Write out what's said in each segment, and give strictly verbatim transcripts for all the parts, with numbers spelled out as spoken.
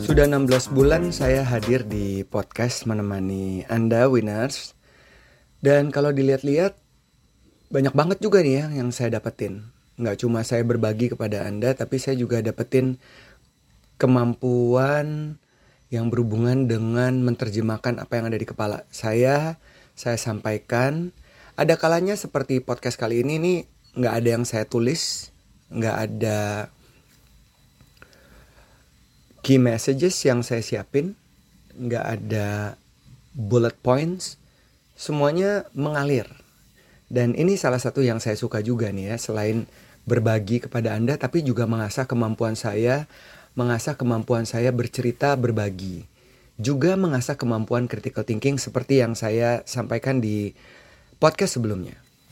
Sudah enam belas bulan saya hadir di podcast menemani Anda Winners. Dan kalau dilihat-lihat banyak banget juga nih ya yang saya dapetin. Nggak cuma saya berbagi kepada Anda, tapi saya juga dapetin kemampuan yang berhubungan dengan menerjemahkan apa yang ada di kepala saya. Saya sampaikan. Ada kalanya seperti podcast kali ini nih nggak ada yang saya tulis, nggak ada key messages yang saya siapin, nggak ada bullet points, semuanya mengalir. Dan ini salah satu yang saya suka juga nih ya, selain berbagi kepada Anda, tapi juga mengasah kemampuan saya, mengasah kemampuan saya bercerita, berbagi. Juga mengasah kemampuan critical thinking seperti yang saya sampaikan di podcast sebelumnya.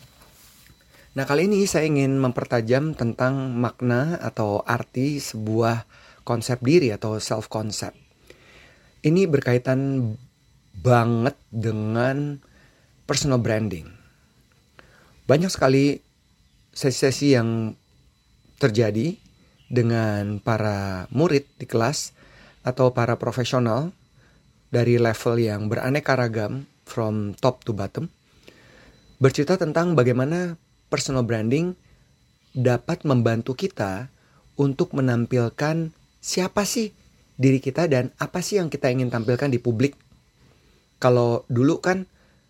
Nah, kali ini saya ingin mempertajam tentang makna atau arti sebuah konsep diri atau self concept. Ini berkaitan banget dengan personal branding. Banyak sekali sesi-sesi yang terjadi dengan para murid di kelas atau para profesional dari level yang beraneka ragam from top to bottom, bercerita tentang bagaimana personal branding dapat membantu kita untuk menampilkan siapa sih diri kita dan apa sih yang kita ingin tampilkan di publik. Kalau dulu kan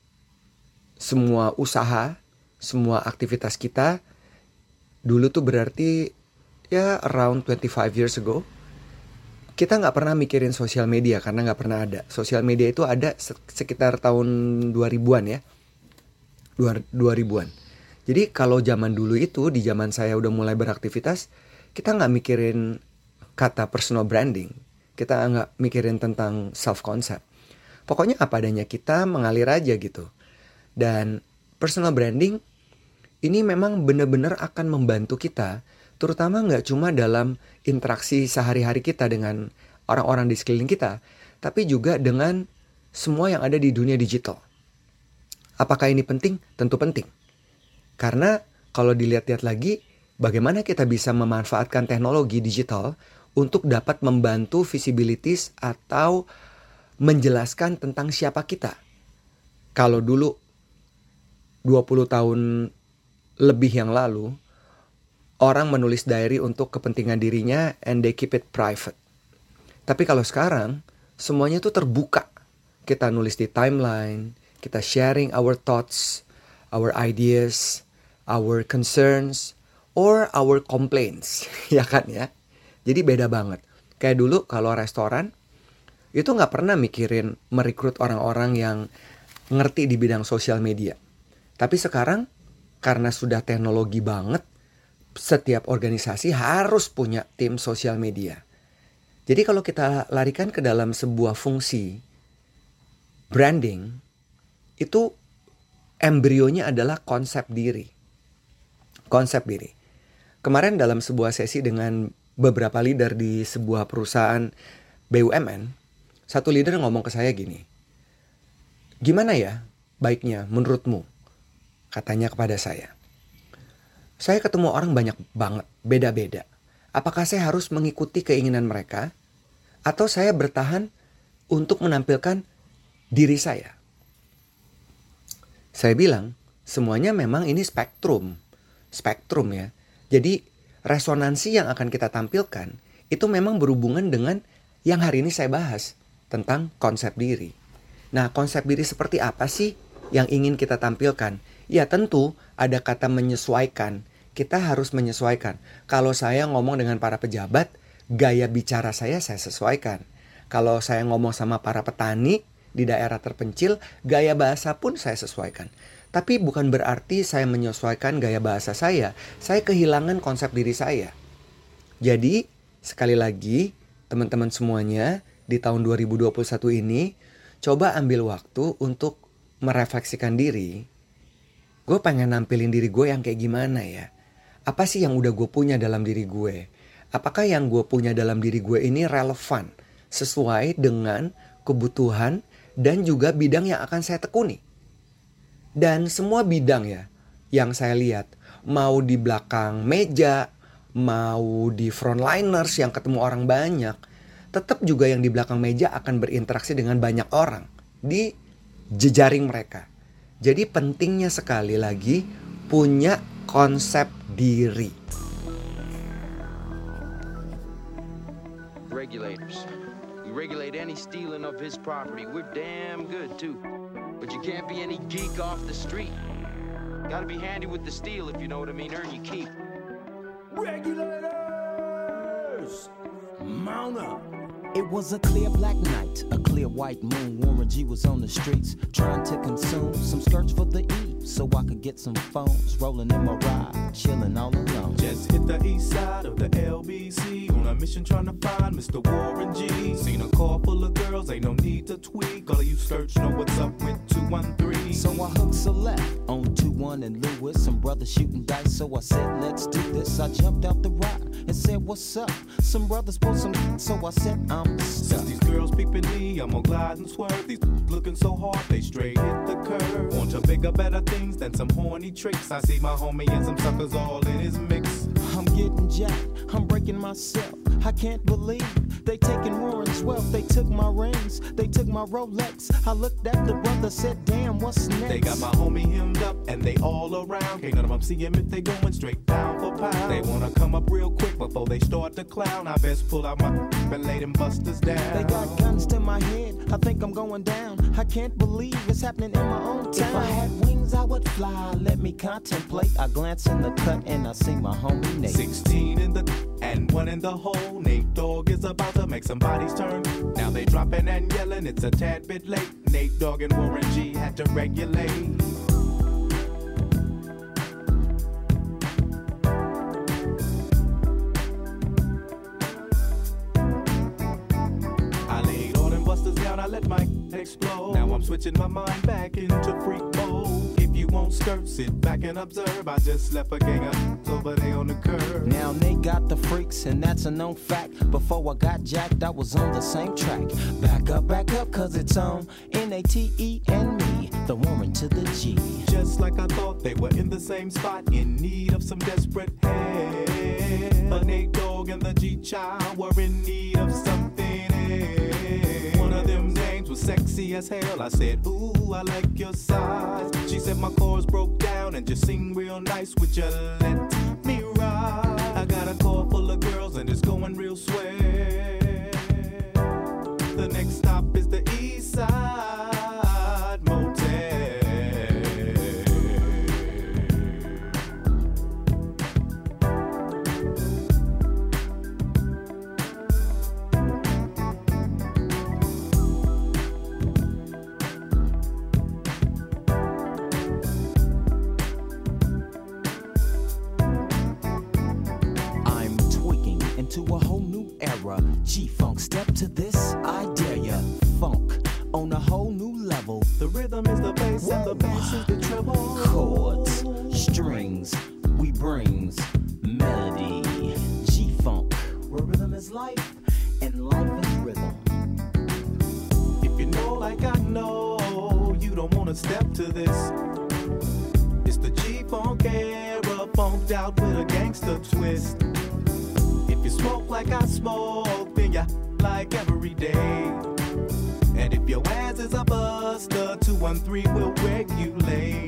semua usaha, semua aktivitas kita dulu tuh berarti ya around twenty-five years ago, kita gak pernah mikirin sosial media karena gak pernah ada. Sosial media itu ada sekitar tahun dua ribuan ya, dua ribuan. Jadi kalau zaman dulu itu, di zaman saya udah mulai beraktivitas, kita gak mikirin kata personal branding, kita nggak mikirin tentang self concept. Pokoknya apa adanya, kita mengalir aja gitu. Dan personal branding ini memang benar-benar akan membantu kita, terutama nggak cuma dalam interaksi sehari-hari kita dengan orang-orang di sekeliling kita, tapi juga dengan semua yang ada di dunia digital. Apakah ini penting? Tentu penting. Karena kalau dilihat-lihat lagi, bagaimana kita bisa memanfaatkan teknologi digital untuk dapat membantu visibilities atau menjelaskan tentang siapa kita. Kalau dulu dua puluh tahun lebih yang lalu, orang menulis diary untuk kepentingan dirinya and they keep it private. Tapi kalau sekarang, semuanya tuh terbuka. Kita nulis di timeline, kita sharing our thoughts, our ideas, our concerns, or our complaints. Ya kan ya? Jadi beda banget. Kayak dulu kalau restoran, itu gak pernah mikirin merekrut orang-orang yang ngerti di bidang sosial media. Tapi sekarang, karena sudah teknologi banget, setiap organisasi harus punya tim sosial media. Jadi kalau kita larikan ke dalam sebuah fungsi branding, itu embrionya adalah konsep diri. Konsep diri. Kemarin dalam sebuah sesi dengan beberapa leader di sebuah perusahaan B U M N, satu leader ngomong ke saya gini, gimana ya baiknya menurutmu? Katanya kepada saya, saya ketemu orang banyak banget, beda-beda. Apakah saya harus mengikuti keinginan mereka? Atau saya bertahan untuk menampilkan diri saya? Saya bilang, semuanya memang ini spektrum. Spektrum ya. Jadi resonansi yang akan kita tampilkan itu memang berhubungan dengan yang hari ini saya bahas tentang konsep diri. Nah, konsep diri seperti apa sih yang ingin kita tampilkan? Ya tentu ada kata menyesuaikan. Kita harus menyesuaikan. Kalau saya ngomong dengan para pejabat, gaya bicara saya saya sesuaikan. Kalau saya ngomong sama para petani di daerah terpencil, gaya bahasa pun saya sesuaikan. Tapi bukan berarti saya menyesuaikan gaya bahasa saya. Saya kehilangan konsep diri saya. Jadi, sekali lagi, teman-teman semuanya, di tahun dua ribu dua puluh satu ini, coba ambil waktu untuk merefleksikan diri. Gue pengen nampilin diri gue yang kayak gimana ya? Apa sih yang udah gue punya dalam diri gue? Apakah yang gue punya dalam diri gue ini relevan? Sesuai dengan kebutuhan dan juga bidang yang akan saya tekuni. Dan semua bidang ya yang saya lihat, mau di belakang meja, mau di frontliners yang ketemu orang banyak, tetap juga yang di belakang meja akan berinteraksi dengan banyak orang di jejaring mereka. Jadi pentingnya sekali lagi punya konsep diri. Regulators. We regulate any stealing of his property. We're damn good too. But you can't be any geek off the street. Gotta be handy with the steel if you know what I mean. Earn your keep. Regulators! Mount up! It was a clear black night, a clear white moon. Warren G was on the streets, trying to consume some skirts for the E, so I could get some phones. Rolling in my ride, chilling all alone. Just hit the east side of the L B C, on a mission trying to find Mister Warren G. Seen a car full of girls, ain't no need to tweak. All of you search know what's up with two one three. So I hooked select on two one and Lewis. Some brothers shooting dice, so I said, let's do this. I jumped out the ride and said, what's up? Some brothers pulled some, so I said, I'm stuck. Since these girls peeping me, I'm gonna glide and swerve. These looking so hard, they straight hit the curve. Want to bigger, better things than some horny tricks. I see my homie and some suckers all in his mix. I'm getting jacked, I'm breaking myself. I can't believe they taking Warren's wealth. They took my rings, they took my Rolex. I looked at the brother, said, damn, what's next? They got my homie hemmed up and they all around. Can't none of them see him if they going straight down for pound. They wanna come up real quick before they start to clown. I best pull out my and lay them busters down. They got guns to my head, I think I'm going down. I can't believe it's happening in my own town. If I had wings, I would fly, let me contemplate. I glance in the cut and I see my homie Nate. Sixteen in the and one in the hole. Nate Dogg is about to make some bodies turn. Now they dropping and yelling, it's a tad bit late. Nate Dogg and Warren G had to regulate. I let my explode. Now I'm switching my mind back into freak mode. If you won't skirt, sit back and observe. I just left a gang of over there on the curb. Now they got the freaks and that's a known fact. Before I got jacked, I was on the same track. Back up, back up, cause it's on N A T E and me, the Warren to the G. Just like I thought, they were in the same spot, in need of some desperate help. But Nate Dogg and the G-Child were in need of something else. One of them names was sexy as hell. I said, ooh, I like your size. She said my chords broke down and just sing real nice. Would you let me ride? I got a car full of girls and it's going real swell. The next stop is the East Side Motel. To a whole new era, G-Funk, step to this, I dare ya. Funk on a whole new level. The rhythm is the bass and the bass is the treble. Chords, strings, we brings melody. G-Funk, where rhythm is life and life is rhythm. If you know like I know, you don't wanna step to this. It's the G-Funk era, funked out with a gangster twist. If you smoke like I smoke, then you like every day. And if your ass is a buster, two one three will regulate.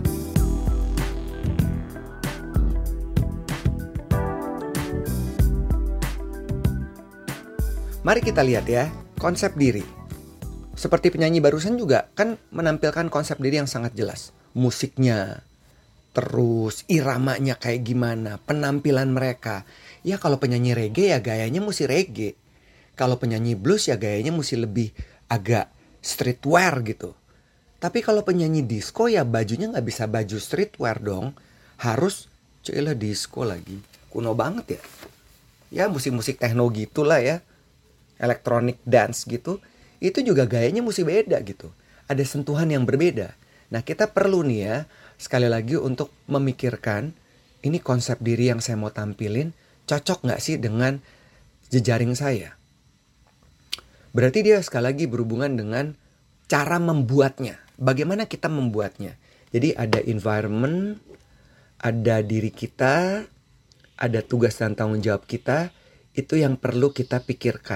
Mari kita lihat ya, konsep diri. Seperti penyanyi barusan juga kan menampilkan konsep diri yang sangat jelas. Musiknya, terus iramanya kayak gimana, penampilan mereka. Ya kalau penyanyi reggae ya gayanya mesti reggae. Kalau penyanyi blues ya gayanya mesti lebih agak streetwear gitu. Tapi kalau penyanyi disco ya bajunya gak bisa baju streetwear dong. Harus celah disco lagi. Kuno banget ya. Ya musik-musik techno gitulah ya. Electronic dance gitu. Itu juga gayanya mesti beda gitu. Ada sentuhan yang berbeda. Nah kita perlu nih ya sekali lagi untuk memikirkan ini konsep diri yang saya mau tampilin cocok gak sih dengan jejaring saya? Berarti dia sekali lagi berhubungan dengan cara membuatnya. Bagaimana kita membuatnya? Jadi ada environment, ada diri kita, ada tugas dan tanggung jawab kita. Itu yang perlu kita pikirkan.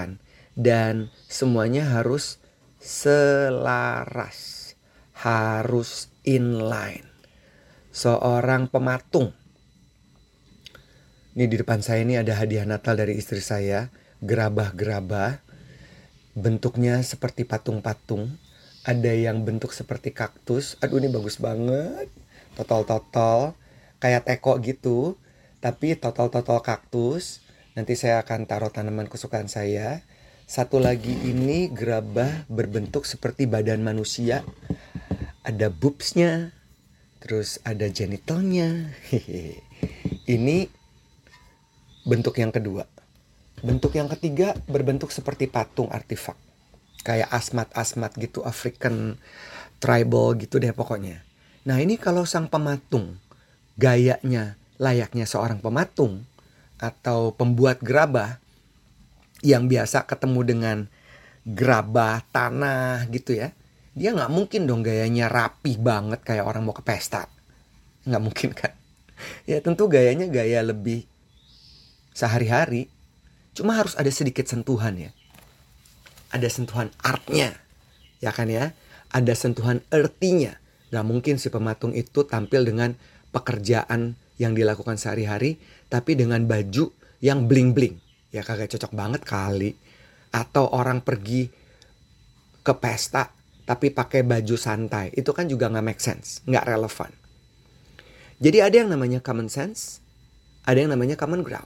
dan semuanya harus selaras, harus inline. Seorang pematung. Ini di depan saya ini ada hadiah Natal dari istri saya, gerabah-gerabah. Bentuknya seperti patung-patung. Ada yang bentuk seperti kaktus. Aduh, ini bagus banget. Totol-totol. Kayak teko gitu. Tapi totol-totol kaktus. Nanti saya akan taruh tanaman kesukaan saya. Satu lagi ini gerabah berbentuk seperti badan manusia. Ada boobsnya. Terus ada genitalnya. Ini bentuk yang kedua. Bentuk yang ketiga berbentuk seperti patung artefak. Kayak asmat-asmat gitu, African tribal gitu deh pokoknya. Nah ini kalau sang pematung gayanya layaknya seorang pematung atau pembuat gerabah yang biasa ketemu dengan gerabah tanah gitu ya. Dia gak mungkin dong gayanya rapi banget kayak orang mau ke pesta. Gak mungkin kan. Ya tentu gayanya gaya lebih sehari-hari. Cuma harus ada sedikit sentuhan ya. Ada sentuhan artnya, ya kan ya. Ada sentuhan earthy-nya. Gak mungkin si pematung itu tampil dengan pekerjaan yang dilakukan sehari-hari, tapi dengan baju yang bling-bling. Ya kagak cocok banget kali. Atau orang pergi ke pesta, tapi pakai baju santai. Itu kan juga gak make sense, gak relevan. Jadi ada yang namanya common sense, ada yang namanya common ground.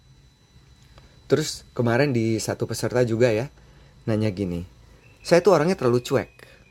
Terus kemarin di satu peserta juga ya, nanya gini, saya tuh orangnya terlalu cuek.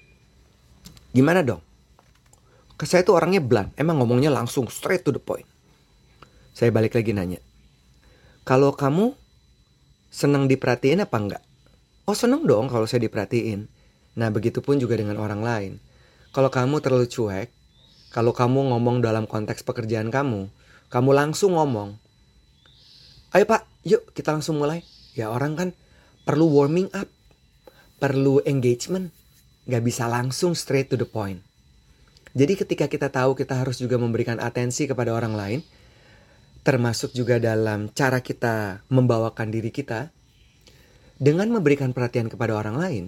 Gimana dong? Saya tuh orangnya blunt, emang ngomongnya langsung straight to the point. Saya balik lagi nanya, kalau kamu senang diperhatiin apa enggak? Oh senang dong kalau saya diperhatiin. Nah begitupun juga dengan orang lain. Kalau kamu terlalu cuek, kalau kamu ngomong dalam konteks pekerjaan kamu, kamu langsung ngomong, ayo pak, yuk kita langsung mulai. Ya orang kan perlu warming up, perlu engagement, gak bisa langsung straight to the point. Jadi ketika kita tahu kita harus juga memberikan atensi kepada orang lain, termasuk juga dalam cara kita membawakan diri kita, dengan memberikan perhatian kepada orang lain,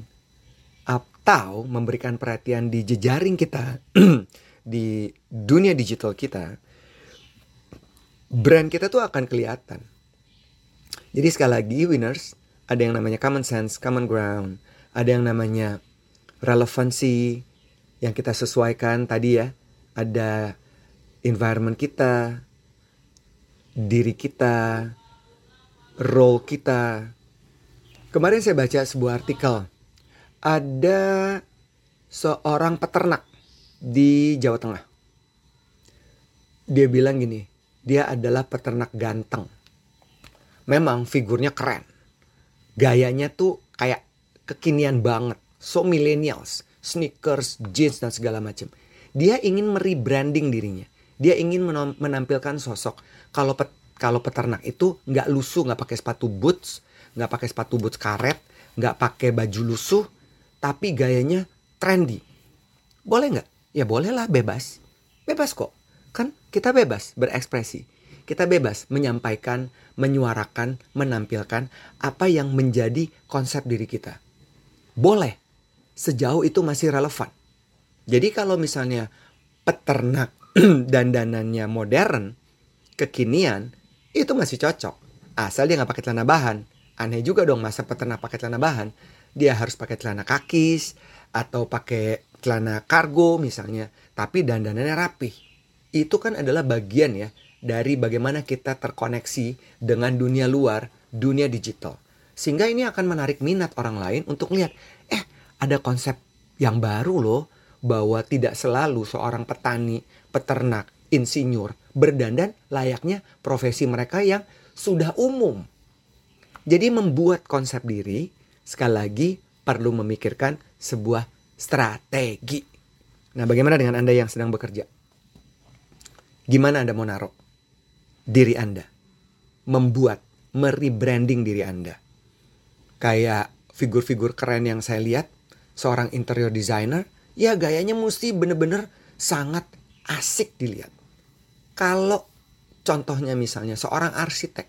atau memberikan perhatian di jejaring kita, di dunia digital kita, brand kita tuh akan kelihatan. Jadi sekali lagi winners, ada yang namanya common sense, common ground, ada yang namanya relevansi yang kita sesuaikan tadi ya, ada environment kita, diri kita, role kita. Kemarin saya baca sebuah artikel, ada seorang peternak di Jawa Tengah. Dia bilang gini, dia adalah peternak ganteng. Memang figurnya keren. Gayanya tuh kayak kekinian banget. So millennials, sneakers, jeans dan segala macam. Dia ingin merebranding dirinya. Dia ingin menampilkan sosok. Kalau pet, kalau peternak itu nggak lusuh, nggak pakai sepatu boots, nggak pakai sepatu boots karet, nggak pakai baju lusuh, tapi gayanya trendy. Boleh nggak? Ya bolehlah, bebas. Bebas kok. Kan kita bebas berekspresi. Kita bebas menyampaikan, menyuarakan, menampilkan apa yang menjadi konsep diri kita. Boleh, sejauh itu masih relevan. Jadi kalau misalnya peternak dandanannya modern, kekinian, itu masih cocok. Asal dia gak pakai celana bahan. Aneh juga dong masa peternak pakai celana bahan. Dia harus pakai celana kakis atau pakai celana kargo misalnya. Tapi dandanannya rapi. Itu kan adalah bagian ya dari bagaimana kita terkoneksi dengan dunia luar, dunia digital. Sehingga ini akan menarik minat orang lain untuk lihat, eh ada konsep yang baru loh, bahwa tidak selalu seorang petani, peternak, insinyur berdandan layaknya profesi mereka yang sudah umum. Jadi membuat konsep diri, sekali lagi perlu memikirkan sebuah strategi. Nah bagaimana dengan Anda yang sedang bekerja? Gimana Anda mau naruh diri Anda? Membuat, merebranding diri Anda. Kayak figur-figur keren yang saya lihat, seorang interior designer, ya gayanya mesti bener-bener sangat asik dilihat. Kalau contohnya misalnya seorang arsitek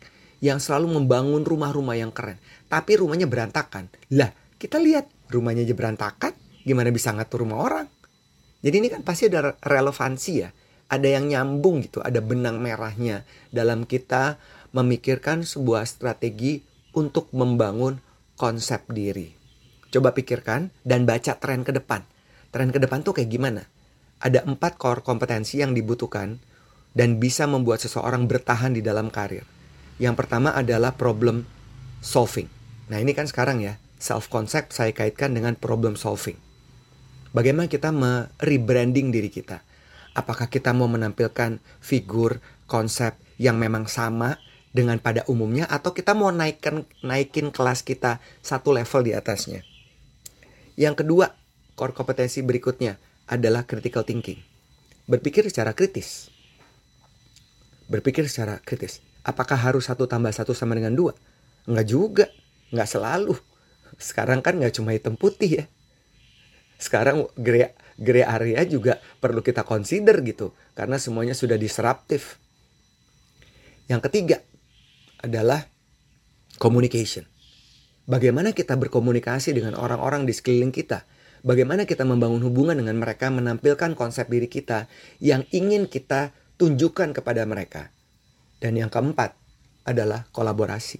yang selalu membangun rumah-rumah yang keren, tapi rumahnya berantakan. Lah, kita lihat rumahnya aja berantakan, gimana bisa ngatur rumah orang? Jadi ini kan pasti ada relevansi ya. Ada yang nyambung gitu, ada benang merahnya dalam kita memikirkan sebuah strategi untuk membangun konsep diri. Coba pikirkan dan baca tren ke depan. Tren ke depan tuh kayak gimana? Ada empat core kompetensi yang dibutuhkan dan bisa membuat seseorang bertahan di dalam karir. Yang pertama adalah problem solving. Nah ini kan sekarang ya, self-concept saya kaitkan dengan problem solving. Bagaimana kita me-rebranding diri kita? Apakah kita mau menampilkan figur, konsep yang memang sama dengan pada umumnya, atau kita mau naikkan, naikin kelas kita satu level di atasnya? Yang kedua, core kompetensi berikutnya adalah critical thinking. Berpikir secara kritis. Berpikir secara kritis. Apakah harus satu tambah satu sama dengan dua? Enggak juga. Enggak selalu. Sekarang kan enggak cuma hitam putih ya. Sekarang gray, gray area juga perlu kita consider gitu. Karena semuanya sudah disruptif. Yang ketiga adalah communication. Bagaimana kita berkomunikasi dengan orang-orang di sekeliling kita. Bagaimana kita membangun hubungan dengan mereka, menampilkan konsep diri kita yang ingin kita tunjukkan kepada mereka. Dan yang keempat adalah kolaborasi.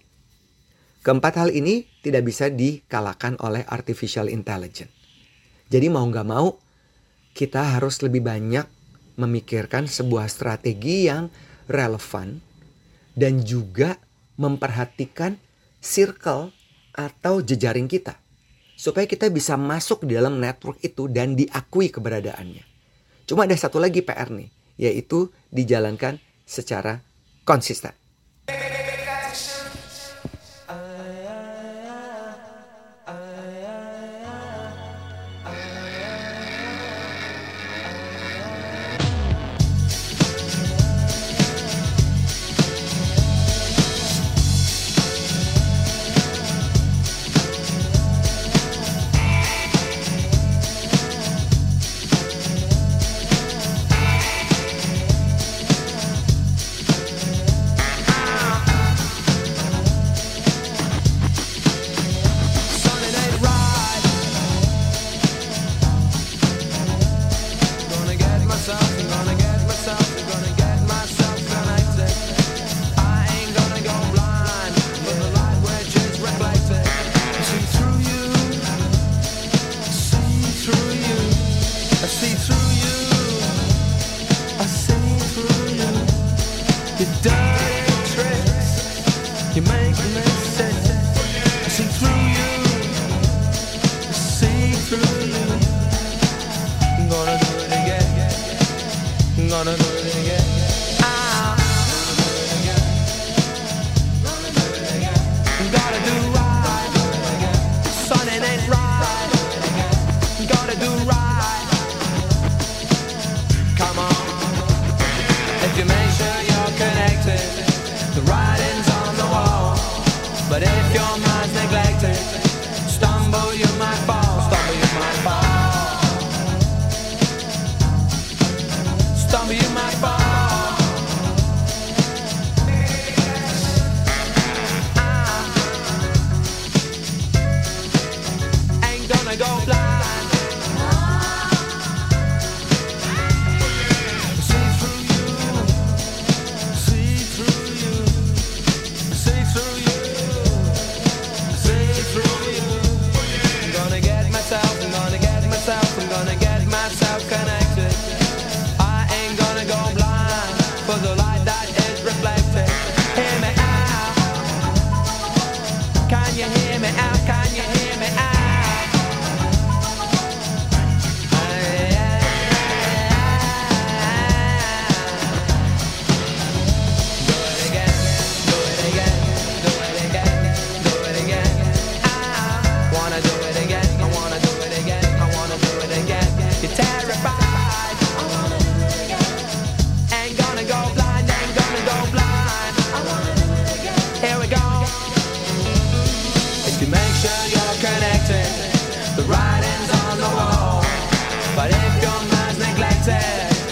Keempat hal ini tidak bisa dikalahkan oleh artificial intelligence. Jadi mau gak mau, kita harus lebih banyak memikirkan sebuah strategi yang relevan dan juga memperhatikan circle atau jejaring kita. Supaya kita bisa masuk di dalam network itu dan diakui keberadaannya. Cuma ada satu lagi P R nih, yaitu dijalankan secara konsisten.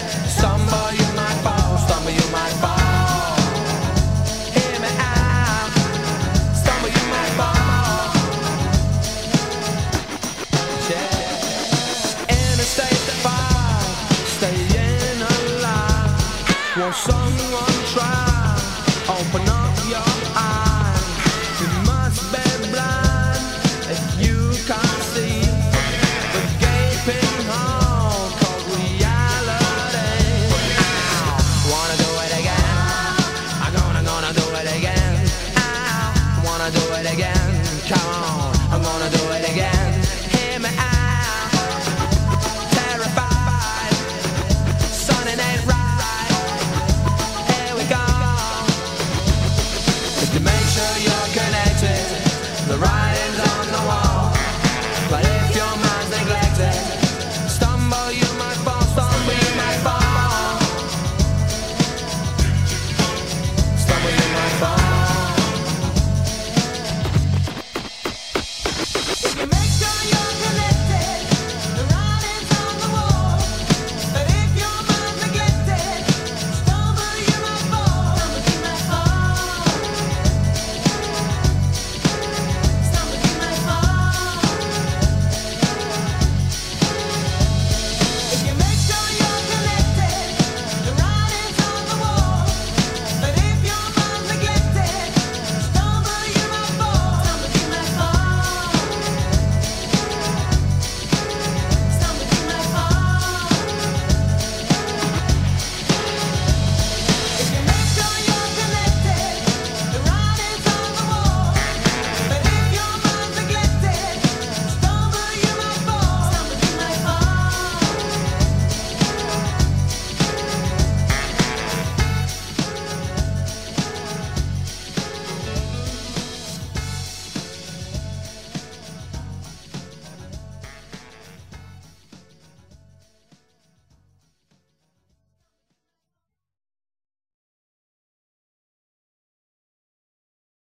Stumble, you might fall. Stumble, you might fall. Hear me out. your eyes. You must be blind if you can't see the gaping hole called reality. Ow, wanna do it again? I'm gonna, gonna do it again. Ow, wanna do it again? Come on, I'm gonna do it again. Hear me out. Terrified, son, it ain't right. Here we go. Just to make sure you're connected, the right